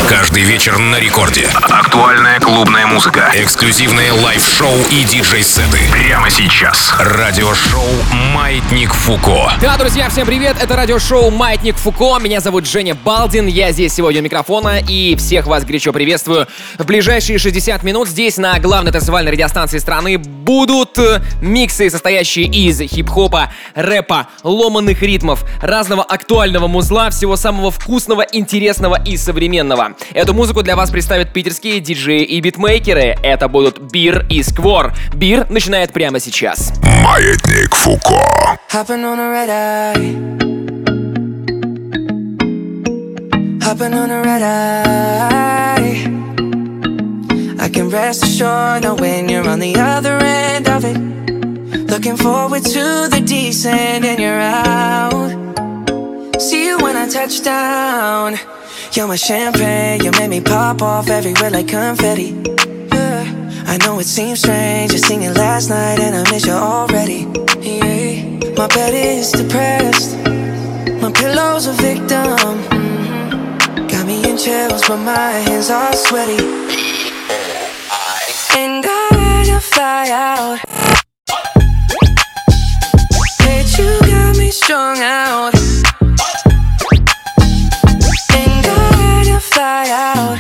Каждый вечер на рекорде. Актуальная клубная музыка. Эксклюзивные лайв-шоу и диджей-сеты. Прямо сейчас. Радиошоу «Маятник Фуко». Да, друзья, всем привет! Это радиошоу «Маятник Фуко». Меня зовут Женя Балдин. Я здесь сегодня у микрофона и всех вас горячо приветствую. В ближайшие 60 минут здесь на главной танцевальной радиостанции страны будут миксы, состоящие из хип-хопа, рэпа, ломаных ритмов, разного актуального музла, всего самого вкусного, интересного и современного. Эту музыку для вас представят питерские диджеи и битмейкеры. Это будут Бир и Сквор. Бир начинает прямо сейчас. Маятник Фуко. Hopping on a red eye. Hopping on a red eye. I can rest assured knowing you're on the other end of it. Looking forward to the descent and you're out. See you when I touch down. You're my champagne, you made me pop off everywhere like confetti. Yeah. I know it seems strange, just singing last night and I miss you already. Yeah. My bed is depressed, my pillow's a victim. Got me in chills, but my hands are sweaty. And I wanna fly out. Bitch, you got me strung out. Fly out.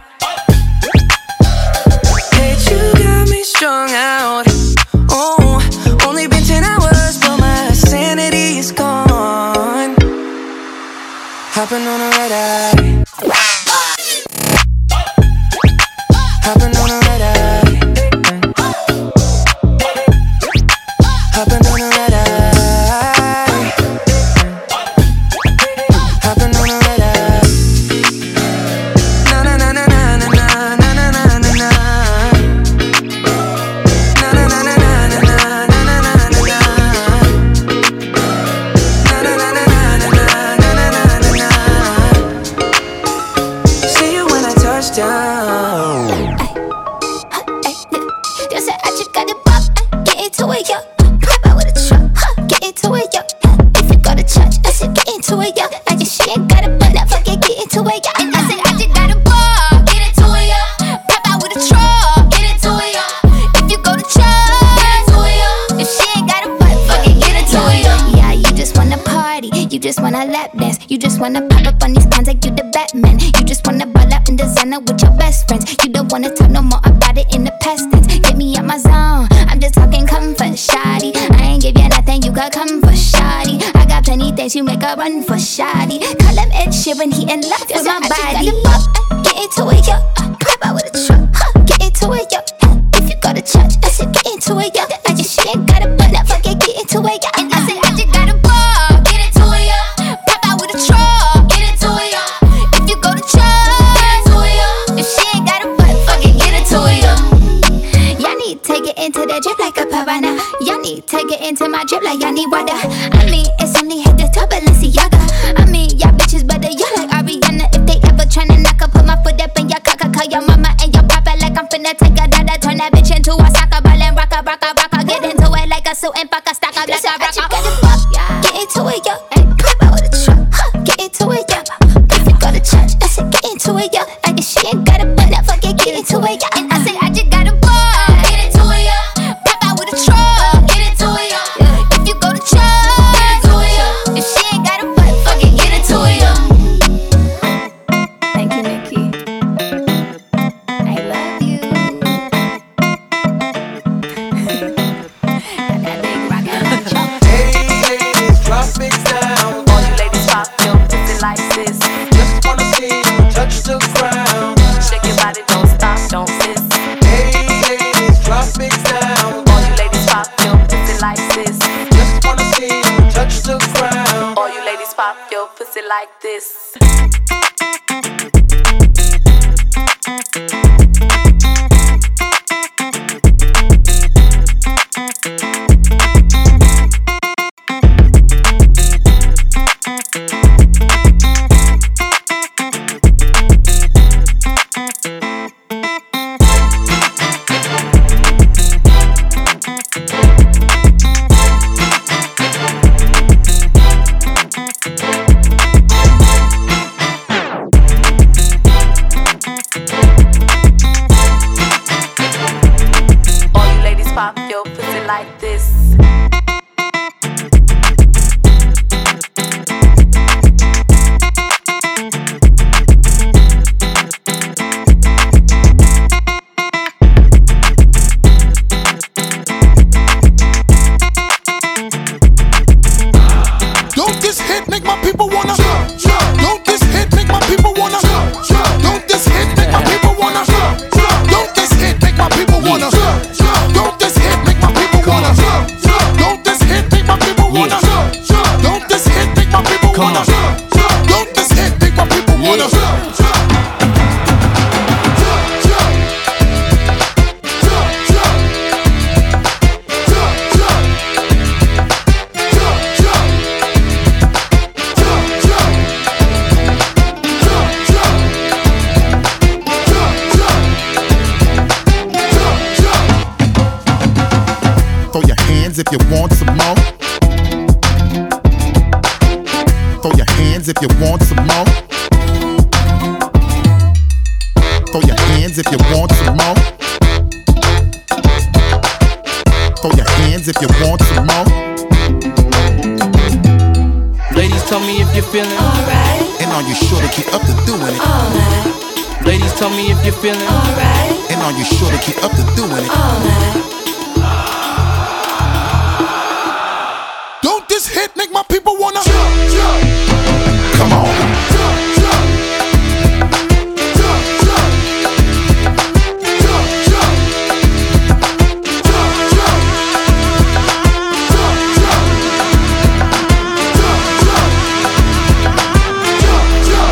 Bitch, you got me strung out. Oh, only been 10 hours, but my sanity is gone. Hopping on a red eye. Hopping on a red eye. Hopping on a red eye. Hopping on a red eye. Wanna lap dance, you just wanna pop up on these cons like you the Batman. You just wanna ball out in designer with your best friends. You don't wanna talk no more about it in the past tense. Get me out my zone, I'm just talking comfort, shoddy. I ain't give you nothing, you could come for shoddy. I got plenty things, you make a run for shoddy. Call him Ed Sheeran, he in love with my body. Get into it, yo. Pop out with a truck, get into it, yo. If you go to church, I said get into it, yo. I just shit ain't got a butt, now fuck it, get into it, yo. And I said I just got a ball, get into it, yo. Get into it, yo. If you go to church, get into it, yo. If she ain't got a butt, fuck it, get into it, yo. Y'all need to get into that drip like a piranha. Y'all need to get into my drip like y'all need water. I mean, it's only hit the top of Balenciaga. I mean, y'all bitches better, y'all like Ariana. If they ever tryna knock up, put my foot up in your cock, call your mama and your papa like I'm finna take a dada. Turn that bitch into a soccer ball and rock. Get into it like a suit and fuck a stock up like a rock. Get into it, yo. Pop out with a truck. Get into it, yo. If you go to church, I said get into it, yo. I guess she ain't got a butt, now fuck it, get into it, yo. And I said I just got a ball, get into it, yo. Pop out with a truck, get into it, yo. If you go to church, get into it, yo. If she ain't got a butt, fuck it, get into it, yo. Thank you, Nikki. I love you. That big rockin'. Hey, ladies, drop it down. All you ladies pop your pussy like this. Just wanna see you touch the ground. Shake your body, don't stop, don't miss. Hey, ladies, drop it down. All you ladies pop your pussy like this. Just wanna see you touch the ground. All you ladies pop your pussy like this. if you want some more. Throw your hands if you want some more. Throw your hands if you want some more. Throw your hands if you want some more. Ladies, tell me if you're feeling alright. And are you sure to keep up to doing it? All night. Ladies, tell me if you're feeling Alright. And are you sure to keep up to doing it? All night. Don't this hit make my people wanna jump, jump. Come on. Jump, jump. Jump, jump. Jump, jump. Jump, jump. Jump, jump. Jump, jump.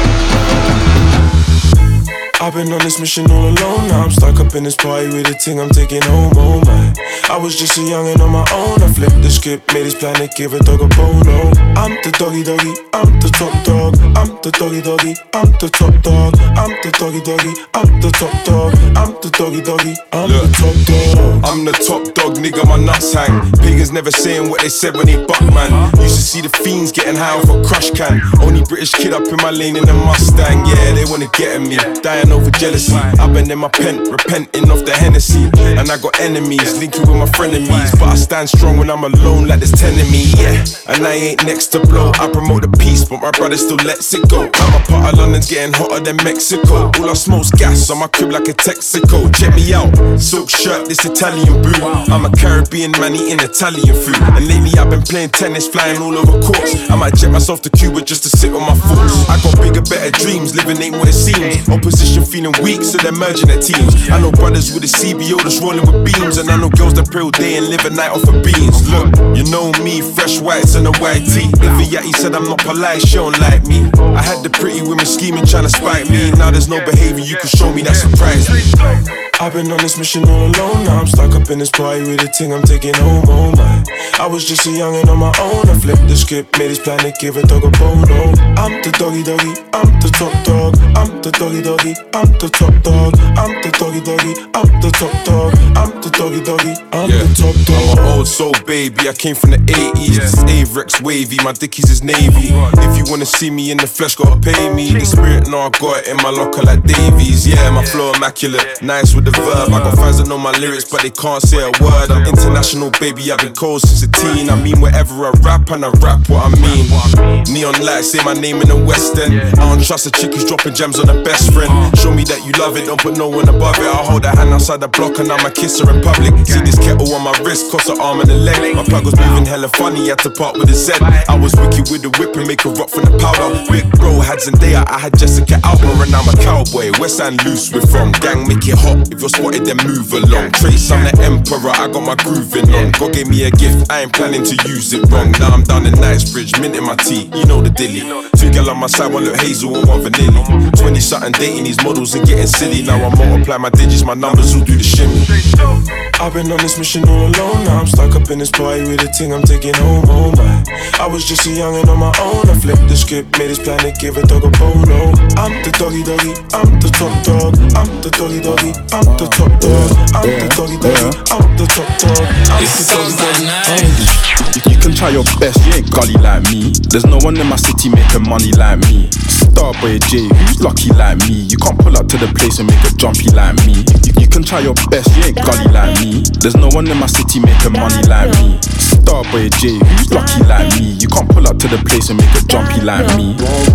I've been on this mission all alone. Now I'm stuck up in this party with a ting I'm taking home, oh my. I was just a youngin' on my own. I flipped the script, made this planet, give a dog a bono. I'm the doggy doggy, I'm the top dog. I'm the doggy doggy, I'm the top dog. I'm the doggy doggy, I'm the top dog. I'm the doggy doggy, I'm the top dog. I'm the top dog, nigga, my nuts hang. Pagans never saying what they said when they buck, man. Used to see the fiends getting high off a crush can. Only British kid up in my lane in a Mustang. Yeah, they wanna get at me, dying over jealousy. I've been in my pen, repenting of the Hennessy. And I got enemies, linking with my frenemies. But I stand strong when I'm alone like there's 10 of me, yeah. And I ain't next to blow, I promote the peace, but my brother still lets it go. I'm a part of London's getting hotter than Mexico. All I smoke's gas on my crib like a Texaco. Check me out, silk shirt, this Italian brew. I'm a Caribbean man eating Italian food. And lately I've been playing tennis, flying all over courts. I might jet myself to Cuba just to sit on my thoughts. I got bigger, better dreams, living ain't what it seems. Opposition feeling weak, so they're merging their teams. I know brothers with a CBO that's rolling with beams. And I know girls that pray all day and live a night off of beans. Look, you know me, fresh whites and a white tee. If a yachty said I'm not polite, she don't like me. I had the pretty women scheming, trying to spite me. Now there's no behavior you can show me that surprised me. I've been on this mission all alone. Now I'm stuck up in this party with a ting I'm taking home, oh my. I was just a youngin' on my own. I flipped the script, made this planet, give a dog a bono. I'm the doggy doggy, I'm the top dog. I'm the doggy doggy, I'm the top dog. I'm the doggy doggy, I'm the top dog. I'm the doggy doggy, I'm the top dog. I'm an old soul baby, I came from the 80s. This Averex wavy, my dickies is navy. If you wanna see me in the flesh, gotta pay me. The spirit, no, I got it in my locker like Davies. Yeah, my flow immaculate, nice with the verb. I got fans that know my lyrics, but they can't say a word. I'm international, baby, I've been cold since a teen. I mean wherever I rap, and I rap what I mean. Neon lights, say my name in the West End. I don't trust a chick who's dropping gems on her best friend. Show me that you love it, don't put no one above it. I hold her hand outside the block and I'ma kiss her in public. See this kettle on my wrist, cost an arm and a leg. My plug was moving hella funny, had to part with a Z. I was wicked with the whip and make her rock from the powder. Big bro had Zendaya, I had Jessica Alba, and I'm a cowboy. West End loose, we're from. Gang, make it hot. If you're spotted, then move along. Trace, I'm the emperor, I got my grooving on. God gave me a gift, I ain't planning to use it wrong. Now I'm down in Knightsbridge, minting my tea, you know the dilly. Two gal on my side, one look hazel and one vanilla. 20 something dating these models and getting silly. Now I multiply my digits, my numbers will do the shimmy. I've been on this mission all alone. Now I'm stuck up in this party with a ting I'm taking home, oh my. I was just a youngin' on my own. I flipped the script, made this planet, give a dog a bono. I'm the doggy doggy, I'm the top dog. I'm the doggy doggy, I'm the top dog. I'm the doggy doggy, I'm the top dog. I'm the doggy doggy. You can try your best, you ain't gully like me. There's no one in my city making money like me. Starboy J, who's lucky like me? You can't pull up to the place and make a jumpy like me. You can try your best, you ain't gully like me. There's no one in my city making money like me. Starboy J, who's lucky like me? You can't pull up to the place and make a jumpy like me.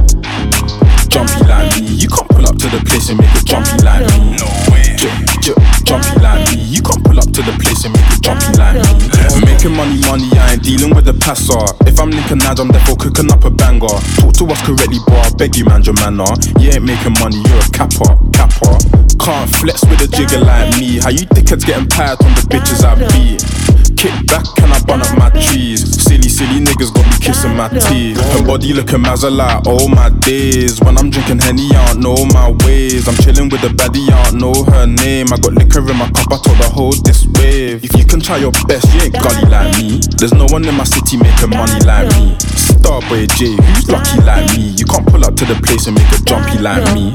Jumpy like me. You can't pull up to the place and make a jumpy like me. No way. Jumpy like me. You can't pull up to the place and make a jumpy like me. I'm making money, I ain't dealing with the passer. If I'm linking Naj, I'm therefore cooking up a banger. Talk to us correctly, bro, I beg you, man, your manner. You ain't making money, you're a capper. Can't flex with a jigger like me. How you dickheads getting pied on the bitches I beat? Kick back and I bun up my trees. Silly niggas got me kissing my teeth. Her body looking mazza like, oh my days. When I'm drinking Henny, I don't know my ways. I'm chilling with a baddie, I don't know her name. I got liquor in my cup, I told her hold this wave. If you can try your best, you ain't gully like me. There's no one in my city making money like me. Starboy J, who's lucky like me? You can't pull up to the place and make a jumpy like me.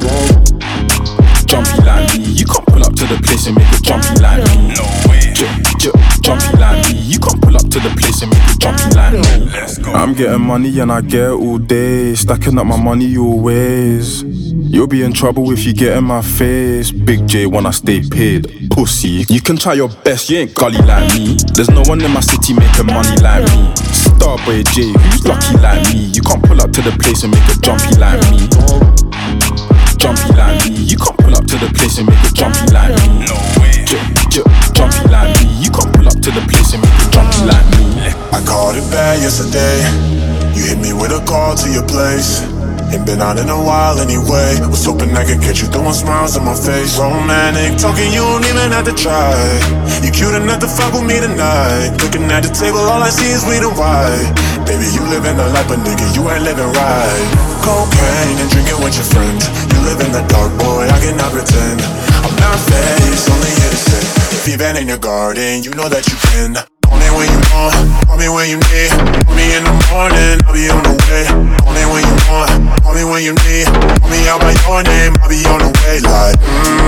Jumpy like me. You can't pull up to the place and make a jumpy like me. No way. Jumpy like me. You can't pull up to to the place and make it jumpy like me. Let's go. I'm getting money and I get it all day, stacking up my money always. You'll be in trouble if you get in my face. Big J when I stay paid. Pussy, you can try your best, you ain't gully like me. There's no one in my city making money like me. Starboy J, who's lucky like me? You can't pull up to the place and make it jumpy like me. Jumpy like me. You can't pull up to the place and make it jumpy like me. No way. Jumpy like me. You can't pull up to the place and make it jumpy like me. I called it bad yesterday. You hit me with a call to your place. Ain't been out in a while anyway. Was hoping I could get you throwing smiles on my face. Romantic talking, you don't even have to try. You cute enough to fuck with me tonight. Looking at the table, all I see is weed and white. Baby, you living the life, but nigga, you ain't living right. Cocaine and drinking with your friends. You live in the dark, boy, I cannot pretend. I'm not faced, only here to say. If you've been in your garden, you know that you can. Call me when you want, call me when you need. Call me in the morning, I'll be on the way. Call me when you want, call me when you need. Call me out by your name, I'll be on the way. Like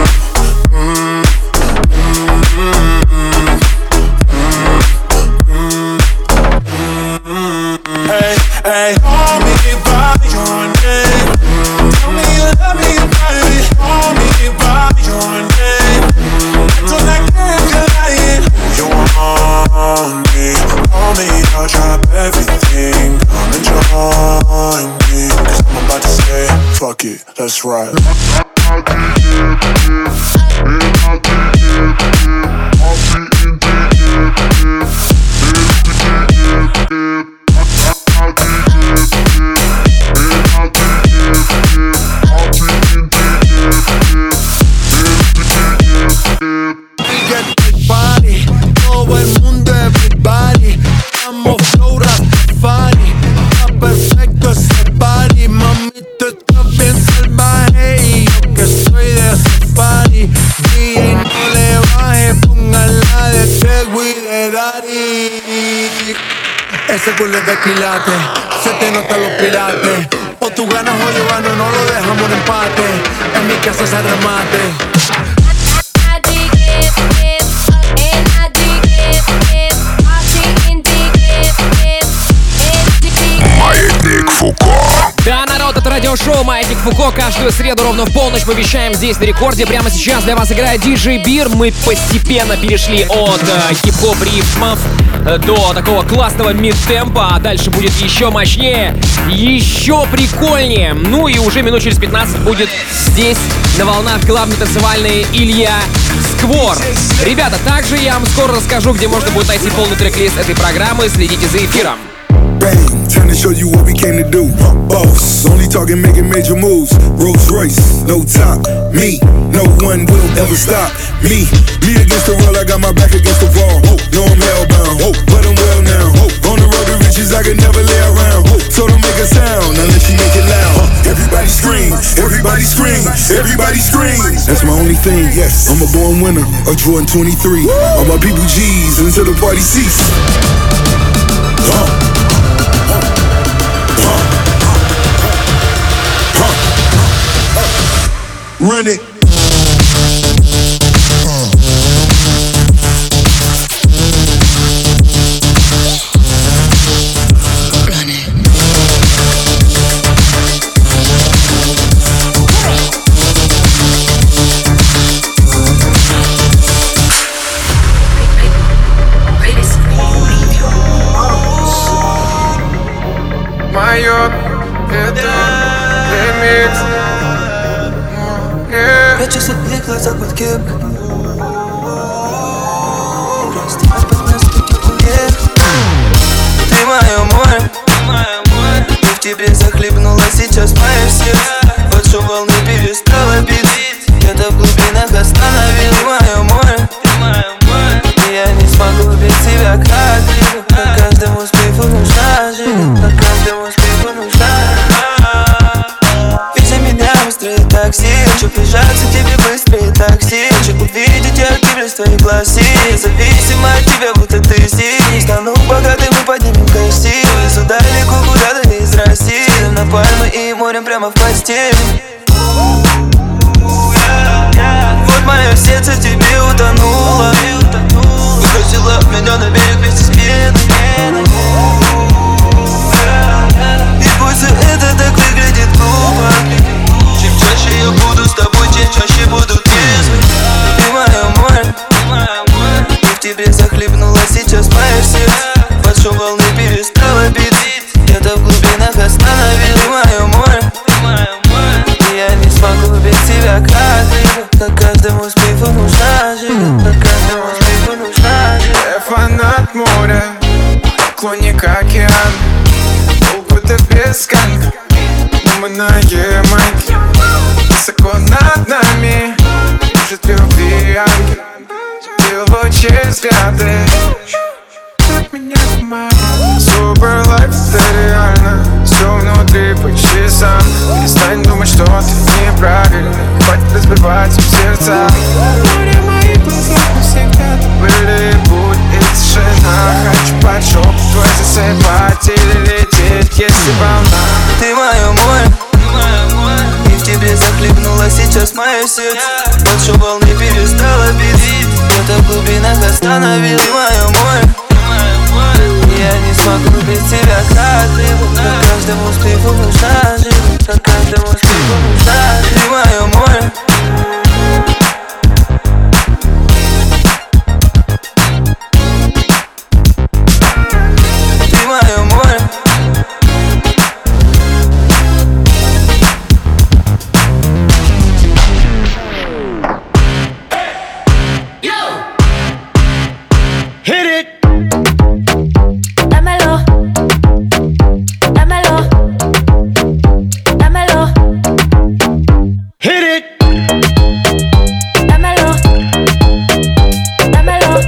hey, hey, call me by your name. Tell me you love me, baby. Call me by your name. Don't I care if you're lying. You want me? Call me, I'll drop everything. Come and join me. 'Cause I'm about to say, fuck it, let's ride. Ese culo es de quilate, se te notan los pilates. O tú ganas o yo gano, no lo dejamos en empate. En mi casa se remate. Маятник Фуко. Да, народ, это радиошоу «Маятник Фуко». Каждую среду ровно в полночь мы вещаем здесь на рекорде. Прямо сейчас для вас играет DJ Beer. Мы постепенно перешли от хип-хоп рифмов до такого классного мид-темпа. А дальше будет еще мощнее, еще прикольнее. Ну и уже минут через 15 будет здесь на волнах главный танцевальный Илья Сквор. Ребята, также я вам скоро расскажу, где можно будет найти полный трек-лист этой программы. Следите за эфиром. Bang, trying to show you what we came to do. Boss, only talking making major moves. Rolls Royce, no top. Me, no one will ever stop. Me against the world, I got my back against the wall. No, I'm hellbound, but I'm well now. On the road to riches, I could never lay around. So don't make a sound unless you make it loud. Everybody scream, everybody scream, everybody scream. That's my only thing, yes. I'm a born winner, a Jordan 23. All my people G's until the party cease. Run it. Майор, это ремикс. Прячусь от них глаза под кепкой. Просто опасность пути уех. Ты мое море, и в тебе захлебнула сейчас мое сердце. Под шум волны перестала бить. Где-то в глубинах остановил мое море. И я не смогу без тебя как-либо. По каждому успеху нужна жизнь. По каждому успеху нужна. Вези меня быстрее такси. Хочу прижаться к тебе быстрее такси. Хочу увидеть яркий в твоих глаз. Независимо от тебя, будто ты здесь. Не стану богатым, мы поднимем кости. Везу далеко, куда-то из России. Сидим на пальмы и морем прямо в постели. Вот мое сердце в тебе утонуло. Выбросила меня на берег вместе с пеной. красиво. Как каждому спиву нужна жива. Как каждому спиву нужна жива. Я фанат моря, поклонник океана. Опыта без конца, но мы на Ямайке. Высоко над нами кружит любви ангел. Его честь взгляды от меня туман. Супер лайф, это реально. Все внутри по часам. Перестань думать, что ты неправильно. Хватит разбивать в сердца. Море моих глазах навсегда. Ты были будь и тишина. Хочу под шоп твой засыпать или лететь, если волна. Ты мое море, и в тебе захлебнулось сейчас мое сердце. Больше волны перестало бить. Где-то в глубинах остановил. Ты мое море, я не смогу без тебя красиво. Как каждому спиву нужна жива. Как каждому спиву нужна жива. Ты мое море. Ты мое море. Hit it! Dámelo, dámelo, dámelo, Hit it! dámelo, dámelo.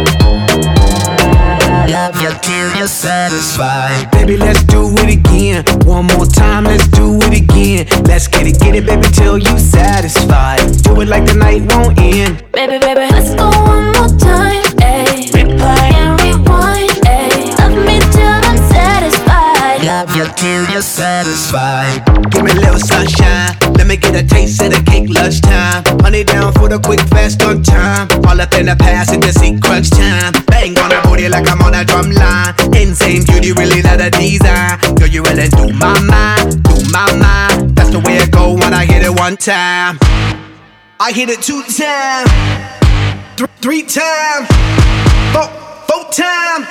Love you till you're satisfied. Baby, let's do it again. One more time, let's do it again. Let's get it, baby, till you satisfied. Do it like the night won't end. Baby, baby, let's go one more time, ayy. Replay and rewind, ayy. Love me till I'm satisfied. Love you till you're satisfied. Give me a little sunshine. Let me get a taste of the cake lunchtime. Honey down for the quick, fast on time. All up in the past in the seat crunch time. Bang on the booty like I'm on a drum line. Insane beauty, really not a design. Girl, you really do my mind, do my mind. That's the way it go when I hit it one time. I hit it 2 times, 3 times, 4 times.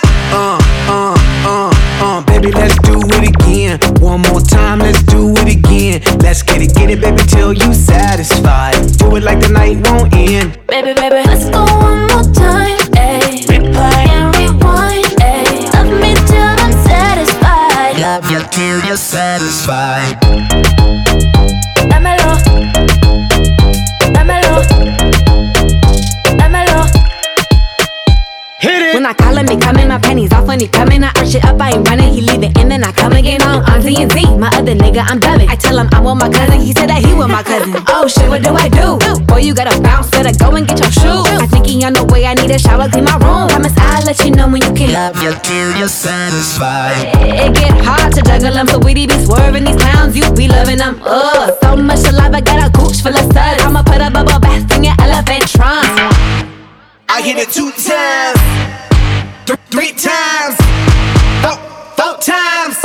Baby, let's do it again. One more time, let's do it again. Let's get it, baby, till you satisfied. Do it like the night won't end. Baby, baby, let's go one more time, ayy. Replay and rewind, ayy. Love me till I'm satisfied. Love you till you're satisfied. Dámelo, dámelo, dámelo. Hit it! When I call him, he coming, my panties off when he coming. I arch it up, I ain't running, he leave it in, then I come again. On TNT, my other nigga, I'm dubbing. I tell him I'm with my cousin, he said that he with my cousin. Oh shit, what do I do? Boy, you gotta bounce, better go and get your shoes. I think he on the way, I need a shower, clean my room. Promise I'll let you know when you can. Love you till you're satisfied. It get hard to juggle them, so we be swerving these clowns, you be loving them. So much saliva, got a gooch full of suds. I'ma put a bubble bath in your elephant trunk. I hit it 2 times, 3 times, 4 times.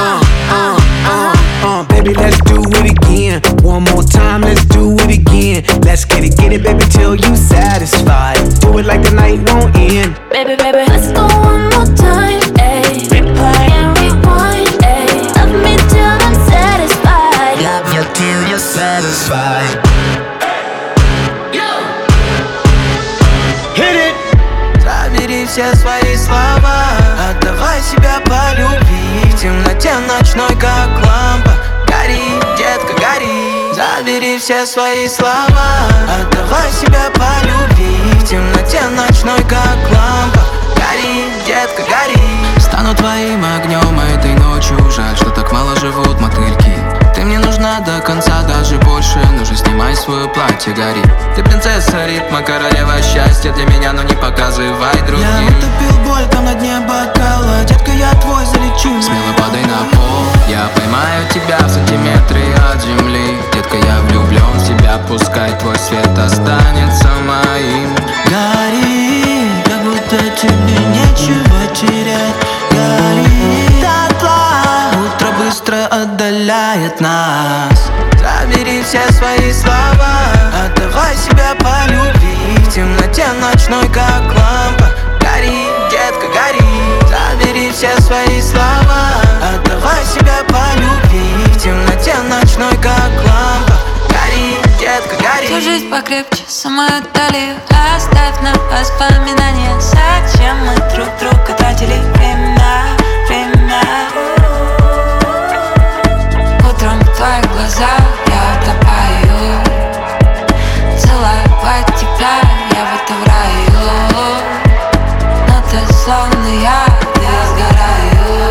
Baby, let's do it again. One more time, let's do it again. Let's get it, baby, till you satisfied. Do it like the night won't end. Baby, baby, let's go one more time, ayy. Replay and rewind, ayy. Love me till I'm satisfied. Love you till you're satisfied. Hit it! Забери все свои слова, отдавай себя по любви. В темноте ночной, как лампа. Гори, детка, гори. Забери все свои слова, отдавай себя по любви. В темноте ночной, как лампа. Гори, детка, гори. Стану твоим огнем этой ночью. Жаль, что так мало живут мотыльки. Ты мне нужна до конца, даже больше. Ну же, снимай свое платье, гори. Ты принцесса ритма, королева счастья для меня, но не показывай другим. Я утопил боль там на дне бокала. Детка, я твой, залечу. Смело падай на пол, я поймаю тебя в сантиметре от земли. Детка, я влюблен в тебя, пускай твой свет останется моим. Гори, как будто тебе нечего терять. Гори, дотла, утро быстро отдаляет нас. Забери все свои слова, отдавай себя по любви. В темноте ночной, как лампа. Гори, детка, гори. Забери все свои слова, отдавай себя по любви. В темноте ночной, как лампа. Гори, детка, гори. Всю жизнь покрепче самую талию. Оставь на воспоминания. Зачем мы друг друга тратили время? Утром в твоих глазах я утопаю. Целовать тебя я в этом раю. Но ты словно я сгораю.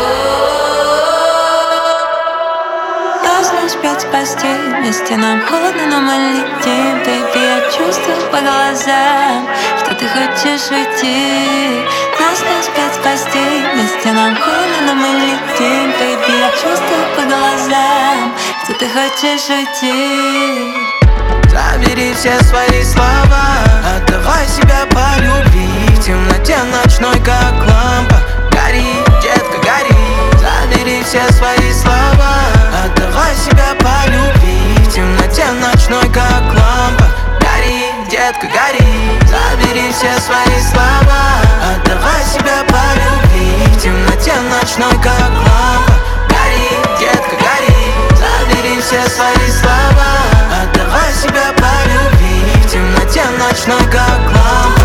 Должны успеть спасти. Вместе нам холодно, но мы летим. Baby, я чувствую по глазам, что ты хочешь уйти. Нас не успеть спасти. Вместе нам холодно, но мы летим. Baby, я чувствую по глазам, что ты хочешь уйти. Забери все свои слова, отдавай себя по любви. В темноте ночной, как лампа. Гори, детка, гори. Забери все свои слова, отдавай себя по любви. В темноте ночной, как лампа. Гори, детка, гори. Забери все свои слова, отдавай себя по любви. В темноте ночной, как лампа. Гори, детка, гори. Забери все свои слова, отдавай себя по любви. В темноте ночной, как лампа.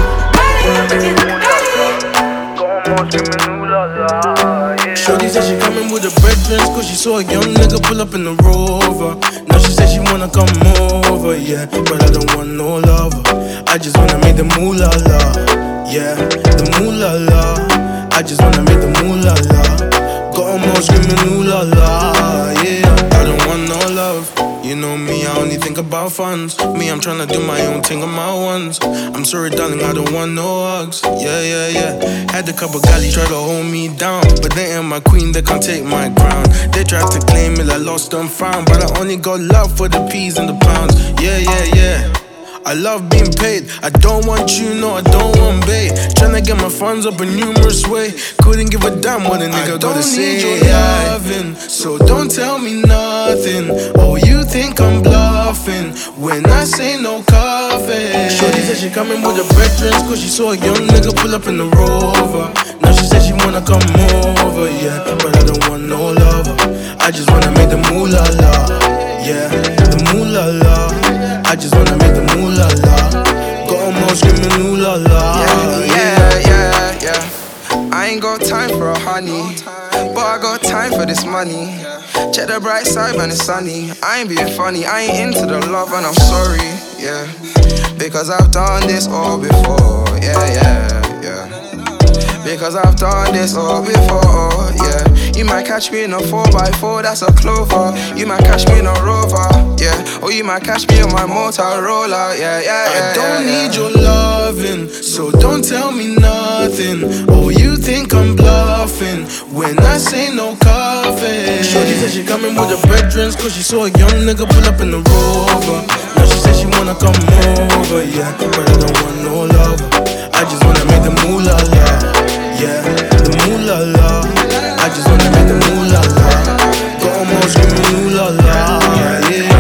Shorty said she coming with her brethren, cause she saw a young nigga pull up in the Rover. Now she said she wanna come over, yeah, but I don't want no lover. I just wanna make the moolah la, yeah, the moolah la. I just wanna make the moolah la. Got 'em all screaming ooh la la, yeah. I don't want no love. You know me, I only think about funds. Me, I'm tryna do my own thing on my ones. I'm sorry, darling, I don't want no hugs. Yeah. Had a couple galleys try to hold me down, but they ain't my queen, they can't take my crown. They tried to claim it, I lost and found, but I only got love for the peas and the pounds. Yeah. I love being paid. I don't want you, no, I don't want bait. Tryna get my funds up a numerous way. Couldn't give a damn what a nigga gotta say. I don't need your loving, so don't tell me nothing. Oh, you think I'm bluffing when I say no coffee. Shorty said she coming with her brethren, cause she saw a young nigga pull up in the Rover. Now she said she wanna come over, yeah, but I don't want no lover. I just wanna make the moolah la, yeah, the moolah la. I just wanna make the moolah la. Got 'em all screaming ooh la la. Yeah. I ain't got time for a honey, but I got time for this money. Check the bright side when it's sunny. I ain't being funny, I ain't into the love and I'm sorry, yeah. Because I've done this all before, yeah. Because I've done this all before, yeah. You might catch me in a 4x4, that's a Clover. You might catch me in a Rover, yeah. Or you might catch me on my Motorola, yeah. I don't need your loving, so don't tell me nothing. Oh, you think I'm bluffing when I say no coffee. Shorty said she coming with her brethren, cause she saw a young nigga pull up in the Rover. Now she said she wanna come over, yeah, but I don't want no lover. I just wanna make the moolah la, yeah, the moolah la. I just wanna make the moolah la. Got 'em all screaming ooh la la, yeah.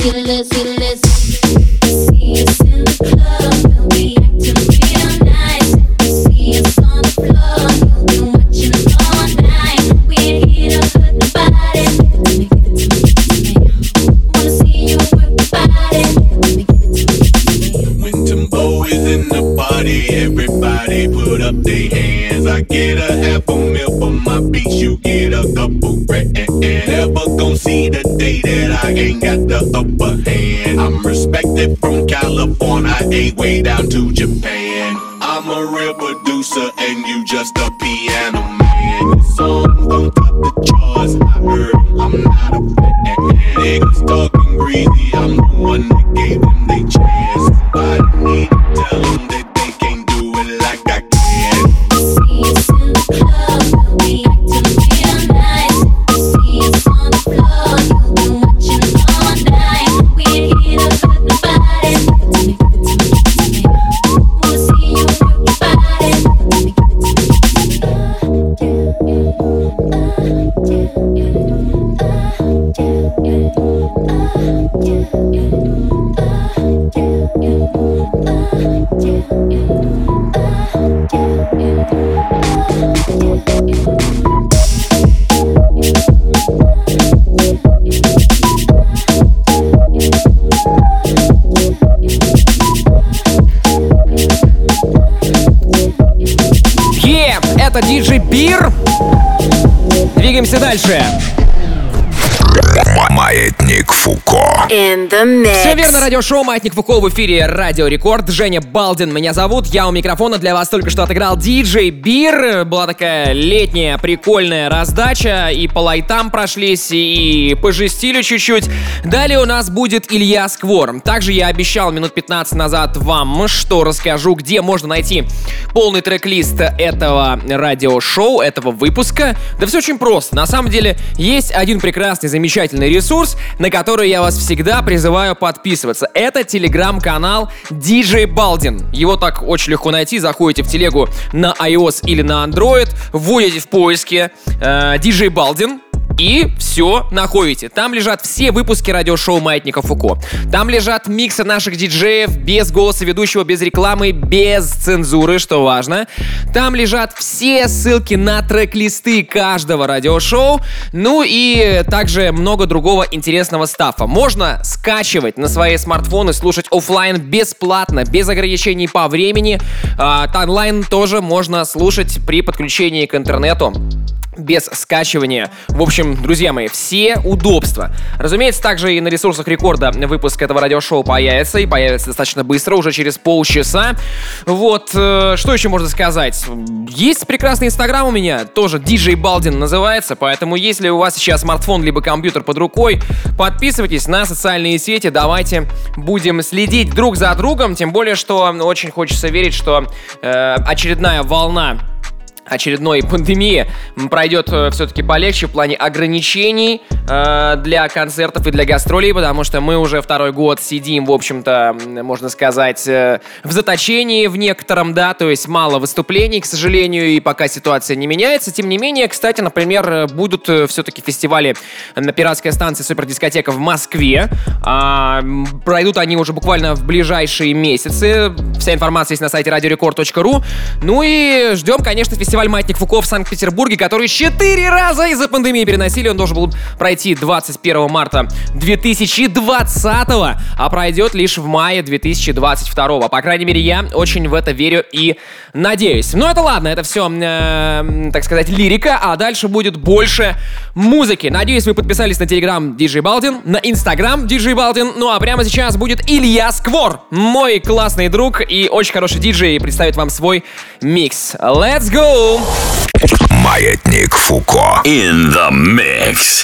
fearless, fearless. See us in the club, we'll be acting real nice. See us on the floor, you'll be watching us all night. We ain't here to hurt nobody. Give it to me, give it to me, give it to me. Wanna see you work the body. Give it to me, give it to me. When Timbo is in the party, everybody put up their hands. I get a half a mil for my beats, you get a couple grand. Never gon' see the day that I ain't got the upper hand. I'm respected from California, A way down to Japan. I'm a real producer and you just a piano man. Your songs don't top the charts, I heard them, I'm not a fan. Niggas talking greasy, I'm the one that gave them they chance. Somebody need to tell them that they can't do it like I can. See us in the club, we'll be acting real nice. See us on the floor, you'll be watching us all night. We ain't here to hurt nobody. Give it to me, give it to me, give it to me. Wanna see you work your body. Give it to me, Это диджей Бир. Двигаемся дальше. Маятник Фуко. In the mix. Все верно, радиошоу «Маятник Фуко» в эфире Радио Рекорд. Женя Балдин меня зовут, я у микрофона. Для вас только что отыграл диджей Бир. Была такая летняя прикольная раздача. И по лайтам прошлись, и пожестили чуть-чуть. Далее у нас будет Илья Сквор. Также я обещал минут 15 назад вам, что расскажу, где можно найти полный трек-лист этого радиошоу, этого выпуска. Да все очень просто. На самом деле есть один прекрасный, замечательный ресурс, на который я вас всегда призываю подписываться. Это телеграм-канал DJ Balden. Его так очень легко найти. Заходите в телегу на iOS или на Android, вводите в поиске DJ Balden. И все находите. Там лежат все выпуски радиошоу «Маятника Фуко». Там лежат миксы наших диджеев без голоса ведущего, без рекламы, без цензуры, что важно. Там лежат все ссылки на трек-листы каждого радиошоу. Ну и также много другого интересного стаффа. Можно скачивать на свои смартфоны, слушать офлайн бесплатно, без ограничений по времени. Онлайн тоже можно слушать при подключении к интернету. Без скачивания. В общем, друзья мои, все удобства. Разумеется, также и на ресурсах Рекорда выпуск этого радиошоу появится. И появится достаточно быстро, уже через полчаса. Вот, что еще можно сказать? Есть прекрасный инстаграм у меня, тоже DJ Balden называется. Поэтому, если у вас сейчас смартфон либо компьютер под рукой, подписывайтесь на социальные сети. Давайте будем следить друг за другом. Тем более, что очень хочется верить, что очередная волна очередной пандемии пройдет все-таки полегче в плане ограничений для концертов и для гастролей, потому что мы уже второй год сидим, в общем-то, можно сказать, в заточении в некотором, да, то есть мало выступлений, к сожалению, и пока ситуация не меняется. Тем не менее, кстати, например, будут все-таки фестивали на пиратской станции Супердискотека в Москве. Пройдут они уже буквально в ближайшие месяцы. Вся информация есть на сайте radiorecord.ru. Ну и ждем, конечно, фестиваль «Маятник Фуко» в Санкт-Петербурге, который 4 раза из-за пандемии переносили. Он должен был пройти 21 марта 2020, а пройдет лишь в мае 2022. По крайней мере, я очень в это верю и надеюсь. Но это ладно, это все, так сказать, лирика, а дальше будет больше музыки. Надеюсь, вы подписались на телеграм DJ Balden, на инстаграм DJ Balden. Ну а прямо сейчас будет Илья Сквор, мой классный друг и очень хороший диджей, представит вам свой микс. Let's go! Маятник Фуко in the mix.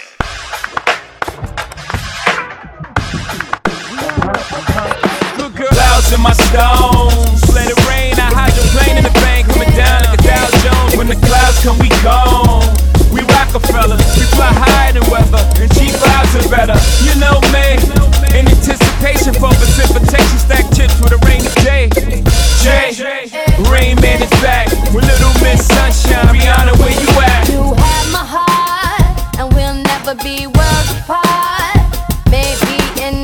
Clouds in my stones, let it rain. I hydroplane in the bank, coming down like a Dow Jones. When the clouds come, we gone. We Rockefeller, we fly higher than weather, and cheap vibes are better. You know me, in anticipation for precipitation, stack chips with a rainy day. Jay, Rain Man is back with Little Miss Sunshine. Rihanna, where you at? You have my heart, and we'll never be worlds apart. Maybe in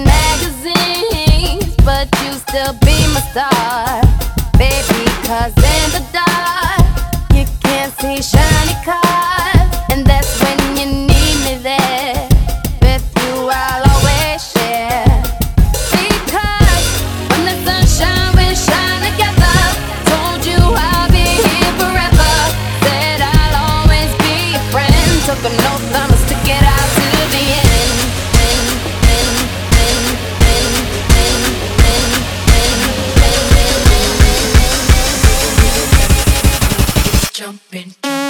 still be my star, baby, 'cause in the dark you can't see shiny cars, and that's when you need me there. With you I'll always share, because when the sunshine we shine together. Told you I'll be here forever, said I'll always be your friend. Took an oath, I'ma stick it out to the end. Jumping.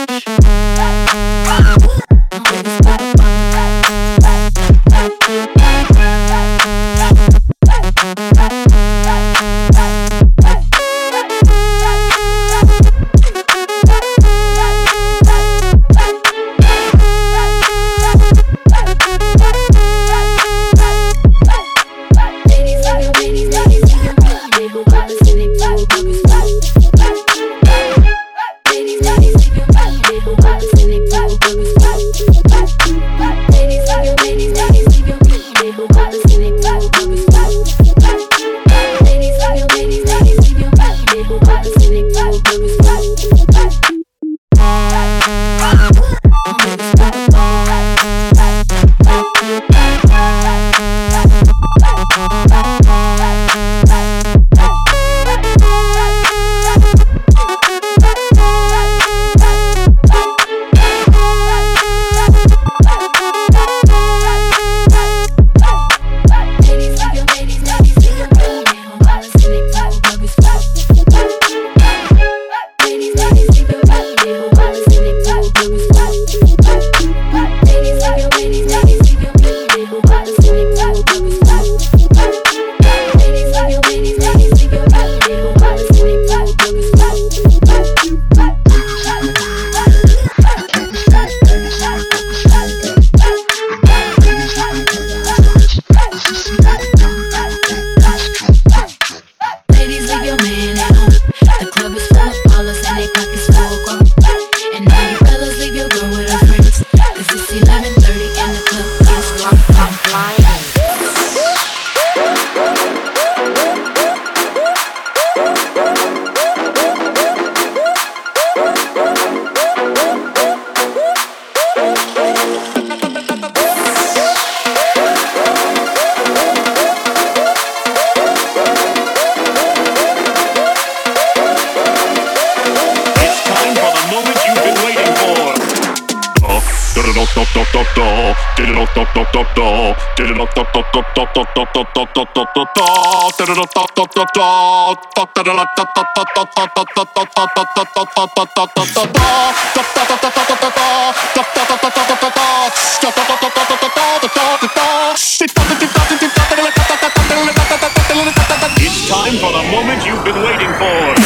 It's time for the moment you've been waiting for.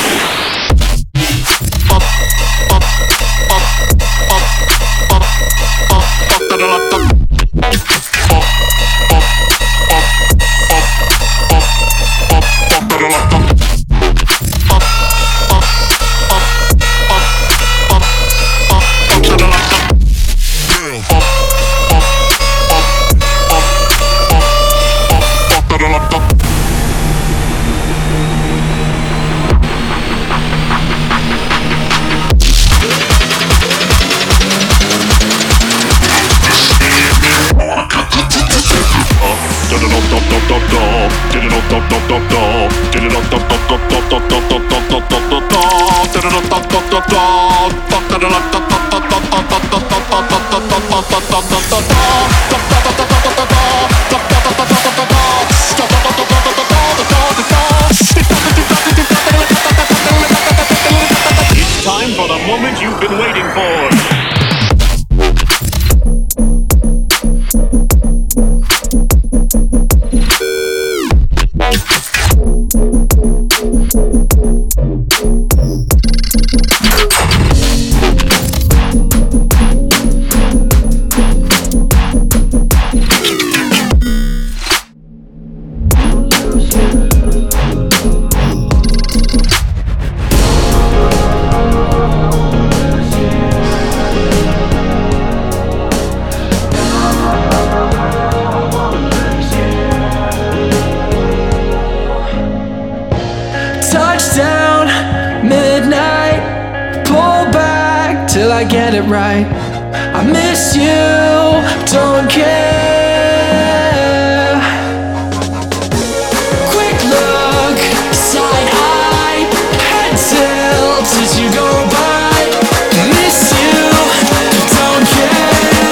It's time for the moment you've been waiting for. I get it right. I miss you, don't care. Quick look, side eye, head tilt as you go by. Miss you, don't care.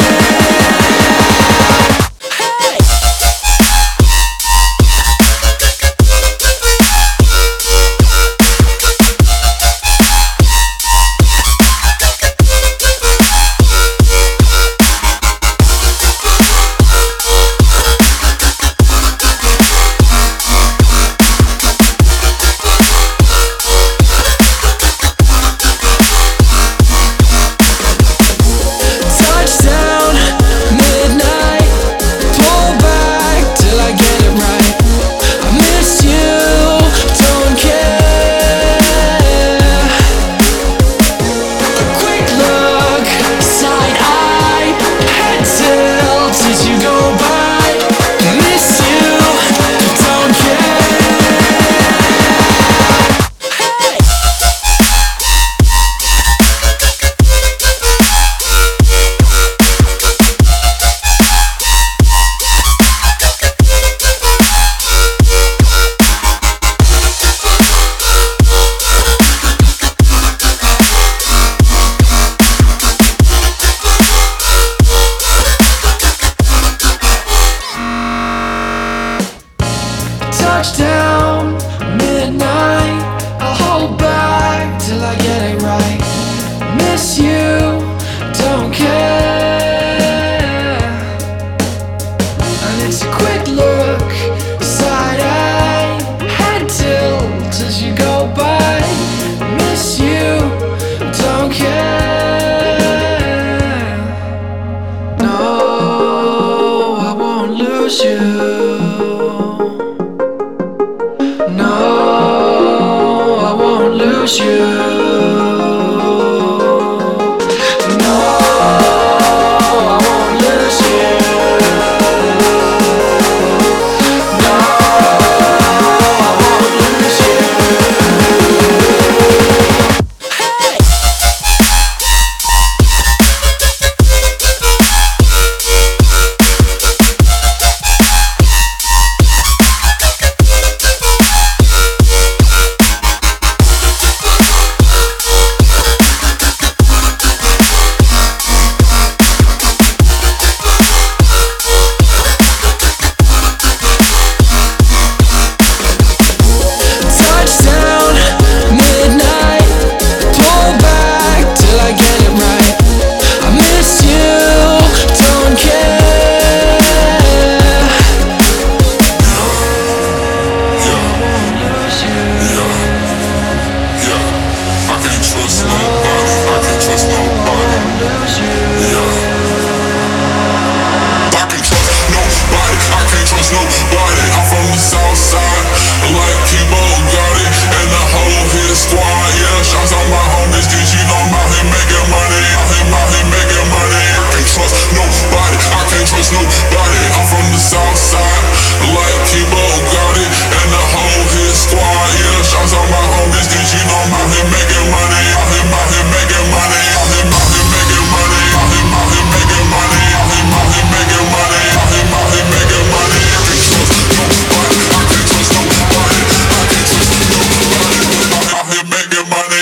Touchdown, midnight. I'll hold back till I get it right. Miss you, don't care. And it's a quick look, side eye, head tilt as you go by. Miss you, don't care. No, I won't lose you. No, I won't lose you. No, I won't lose you. No, I won't lose you. Touchdown, midnight. Pull back till I get it right. I miss you, don't care. No, I won't lose you. I can't trust nobody. I can't trust nobody. I can't trust nobody. I can't trust nobody. I'm from the south side, like Kibo got it, and the whole hit squad. Yeah, shots on my homies. Did you know I'm out here making money? I'm out here making money. I can't trust nobody. I can't trust nobody. I'm from the south side, like Kibo got it, and the whole hit squad. Yeah, shots on my homies. Did you know I'm out here making money? I'm out here making money. I'm out here making money. I'm out here making money. I'm out here making money. I'm out here making money. I can't trust nobody. I can't trust nobody. I can't trust nobody. I'm out here making money.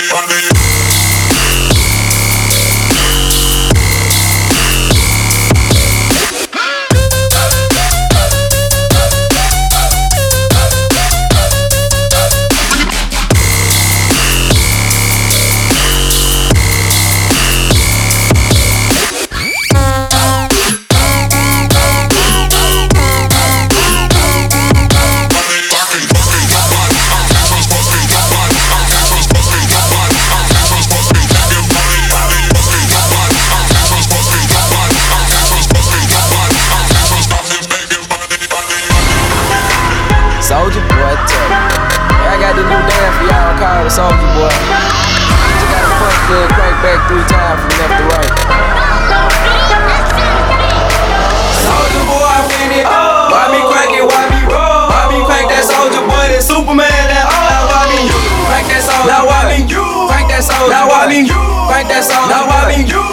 Soulja Boy, tell me. Hey, I got this new dance for y'all called the Soulja Boy. Just gotta punch the crank back 3 times from left to right. Soulja Boy, when it why me crank it, why me roll? Why me crank that Soulja Boy, that Superman, that now why me you crank that Soulja? Now why me you crank that Soulja? Now why me you crank that Soulja? Now why me you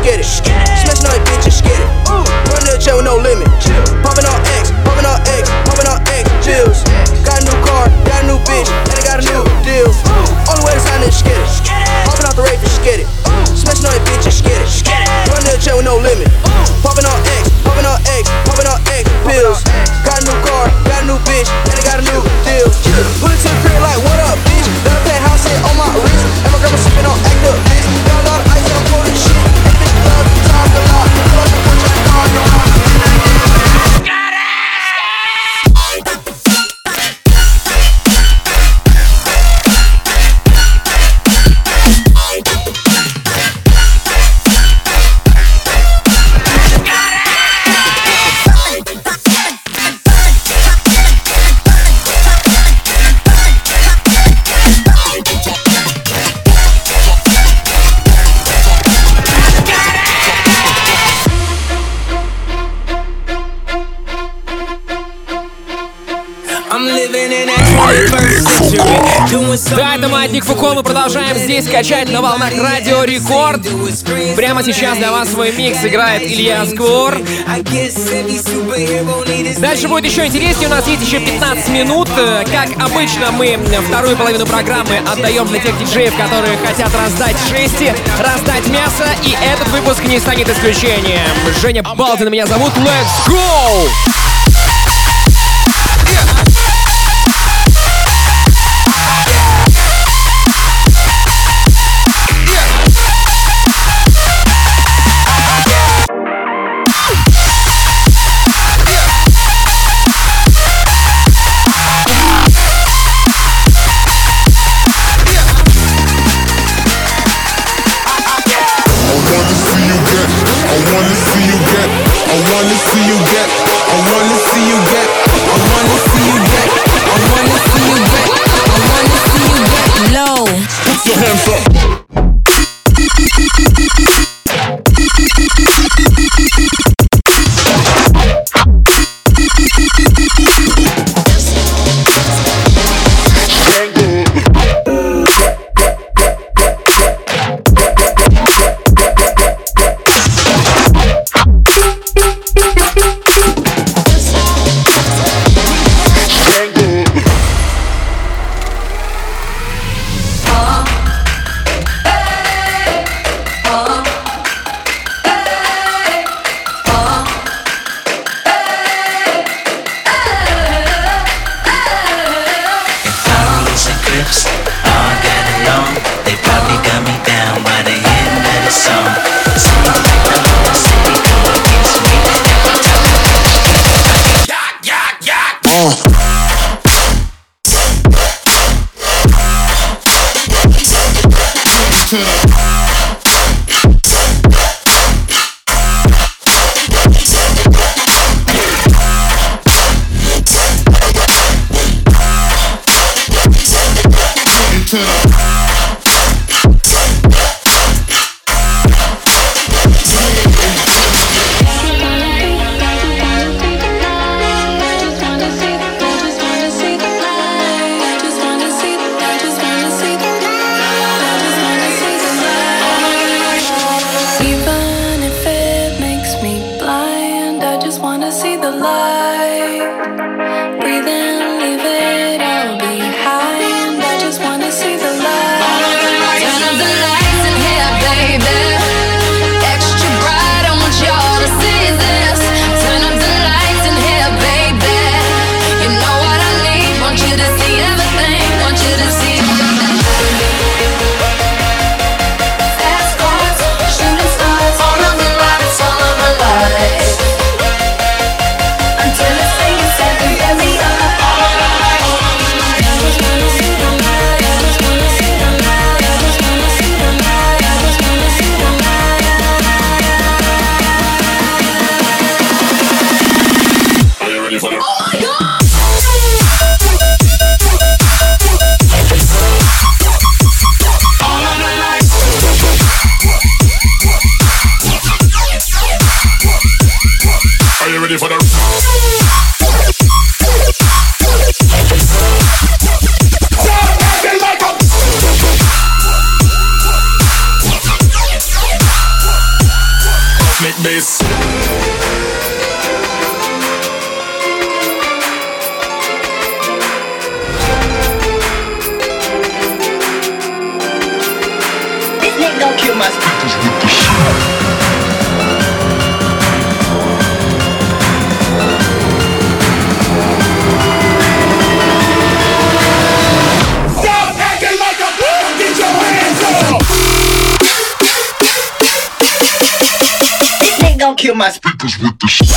skid it. Smashing on that bitch and skid it. Run to the chair with no limit. Popping on X, popping on X, popping on X pills. Got a new car, got a new bitch, and I got a new deal. Only way to sign is skid it. Popping off the rave and skid it. Smashing on that bitch and skid it. Run to the chair with no limit. Popping on X, popping on X, popping on X pills. Got a new car, got a new bitch, and I got a new deal. Pull it to the crib like, what up, bitch? Let her penthouse sit on my wrist. And my grandma sipping on active bitch. Got a lot of ice and I'm pouring shit. And bitch love the time a lot. Love the punch like car, no lie. Да, это Маятник Фуко, мы продолжаем здесь качать на волнах Радио Рекорд. Прямо сейчас для вас свой микс играет Илья Сквор. Дальше будет еще интереснее, у нас есть еще 15 минут. Как обычно, мы вторую половину программы отдаем для тех диджеев, которые хотят раздать шести, раздать мясо, и этот выпуск не станет исключением. Женя Балдин меня зовут, let's go! Make bass. This nigga gon' kill my speakers with the shit. Gon' kill my speakers with the shit.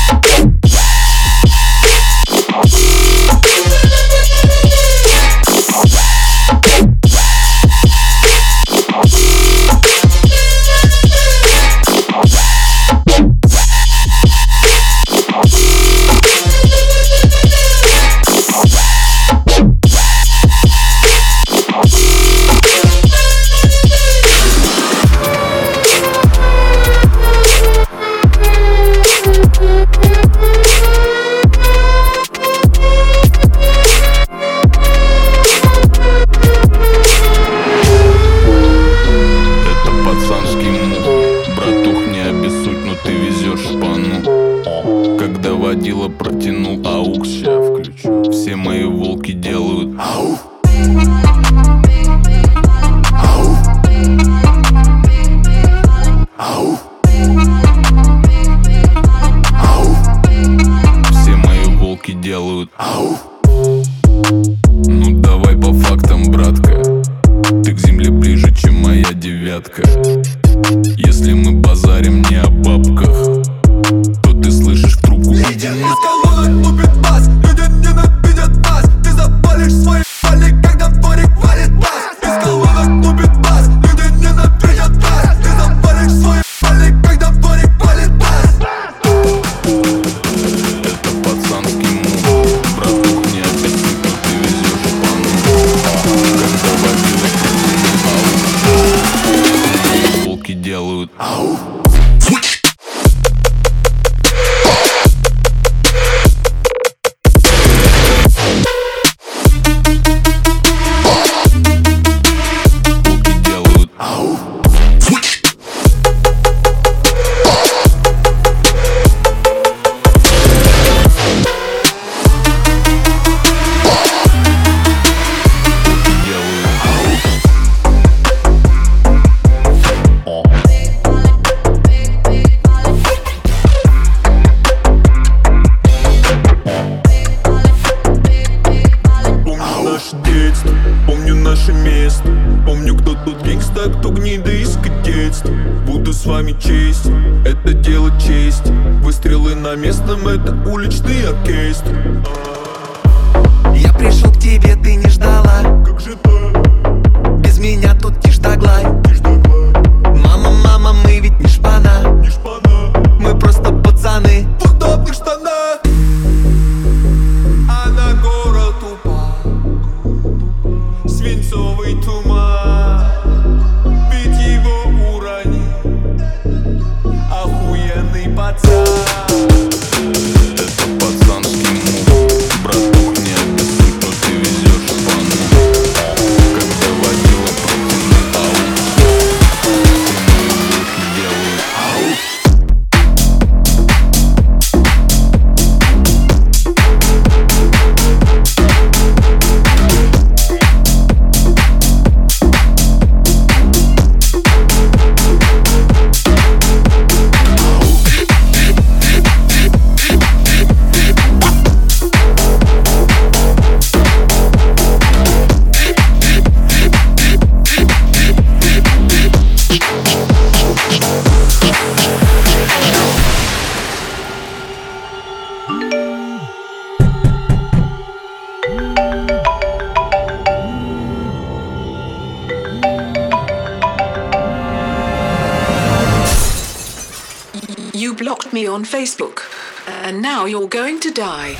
You blocked me on Facebook, and now you're going to die.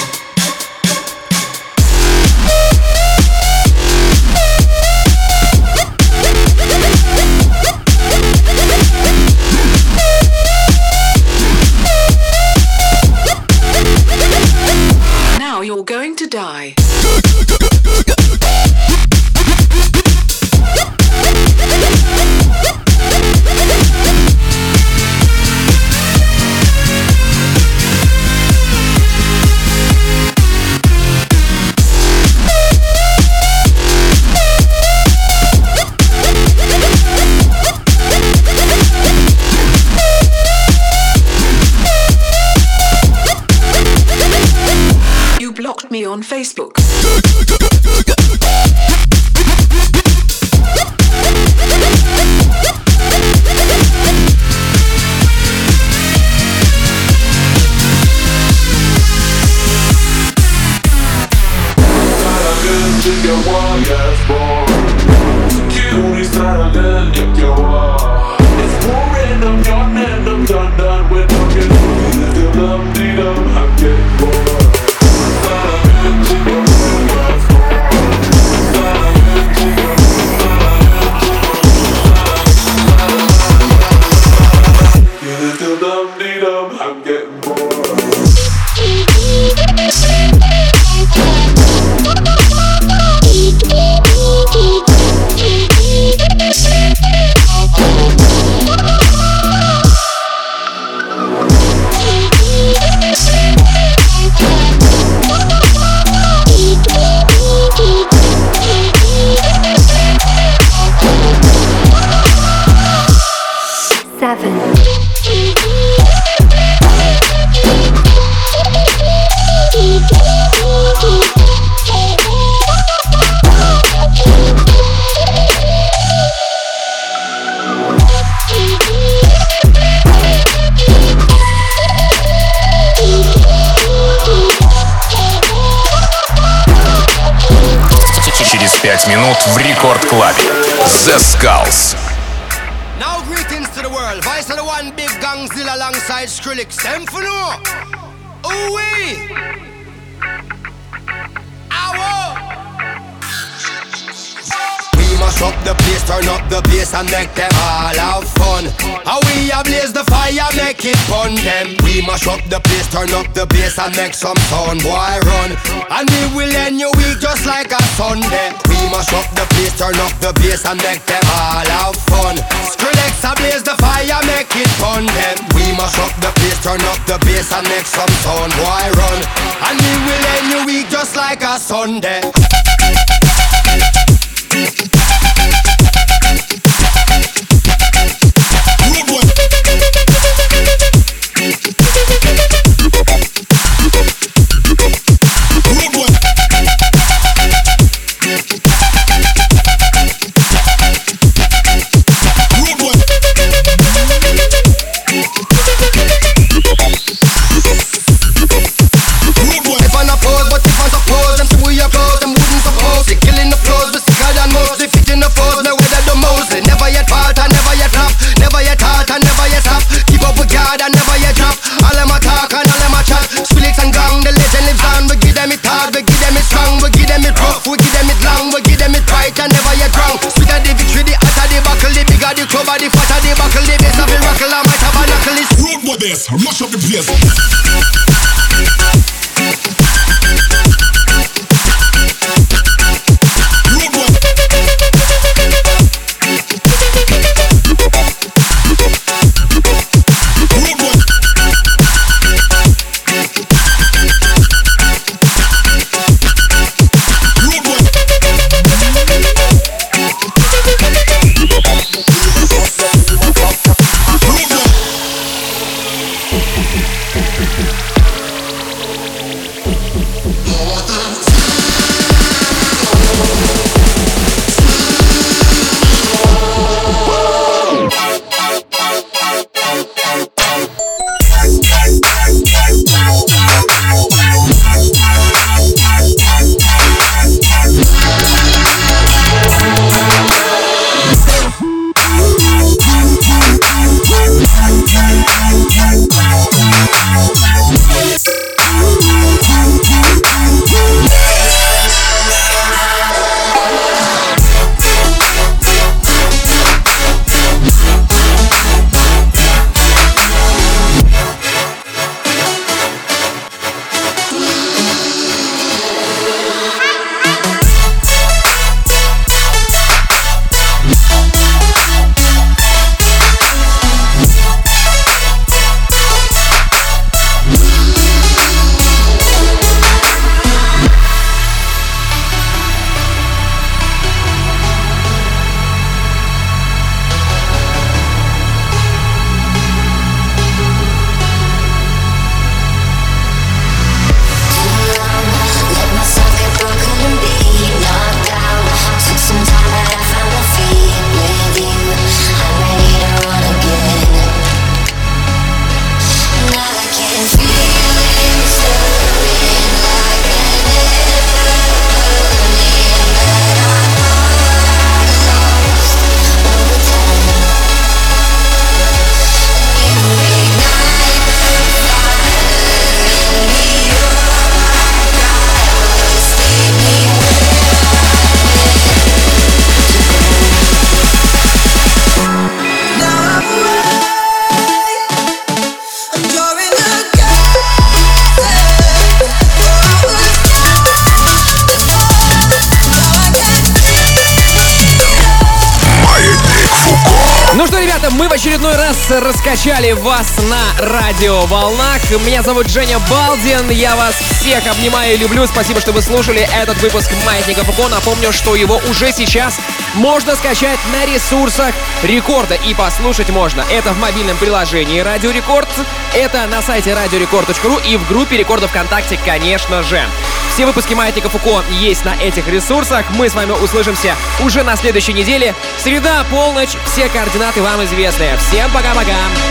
Now you're going to die. Через 5 минут в рекорд-клабе. The Skulls. Now greetings to the world. Vice of the one big gangzilla alongside Skrillex. Them for no. Ooh-wee. Ow. We mash up the place, turn up the bass and make them all have fun. How we ablaze the fire, make it fun them. We mash up the place, turn up the bass and make some sound, boy run. And we will end your week just like a Sunday. We mash up the place, turn up the bass and make them all have fun. Skrillex ablaze the fire, make it fun them. We mash up the place, turn up the bass and make some sound, boy run. And we will end your week just like a Sunday. Mash up the place. Мы в очередной раз раскачали вас на радиоволнах. Меня зовут Женя Балдин. Я вас всех обнимаю и люблю. Спасибо, что вы слушали этот выпуск Маятника Фуко. Напомню, что его уже сейчас можно скачать на ресурсах Рекорда и послушать можно. Это в мобильном приложении Радио Рекорд, это на сайте radiorecord.ru и в группе Рекорда ВКонтакте, конечно же. Все выпуски Маятника Фуко есть на этих ресурсах. Мы с вами услышимся уже на следующей неделе. Среда, полночь, все координаты вам известны. Всем пока-пока!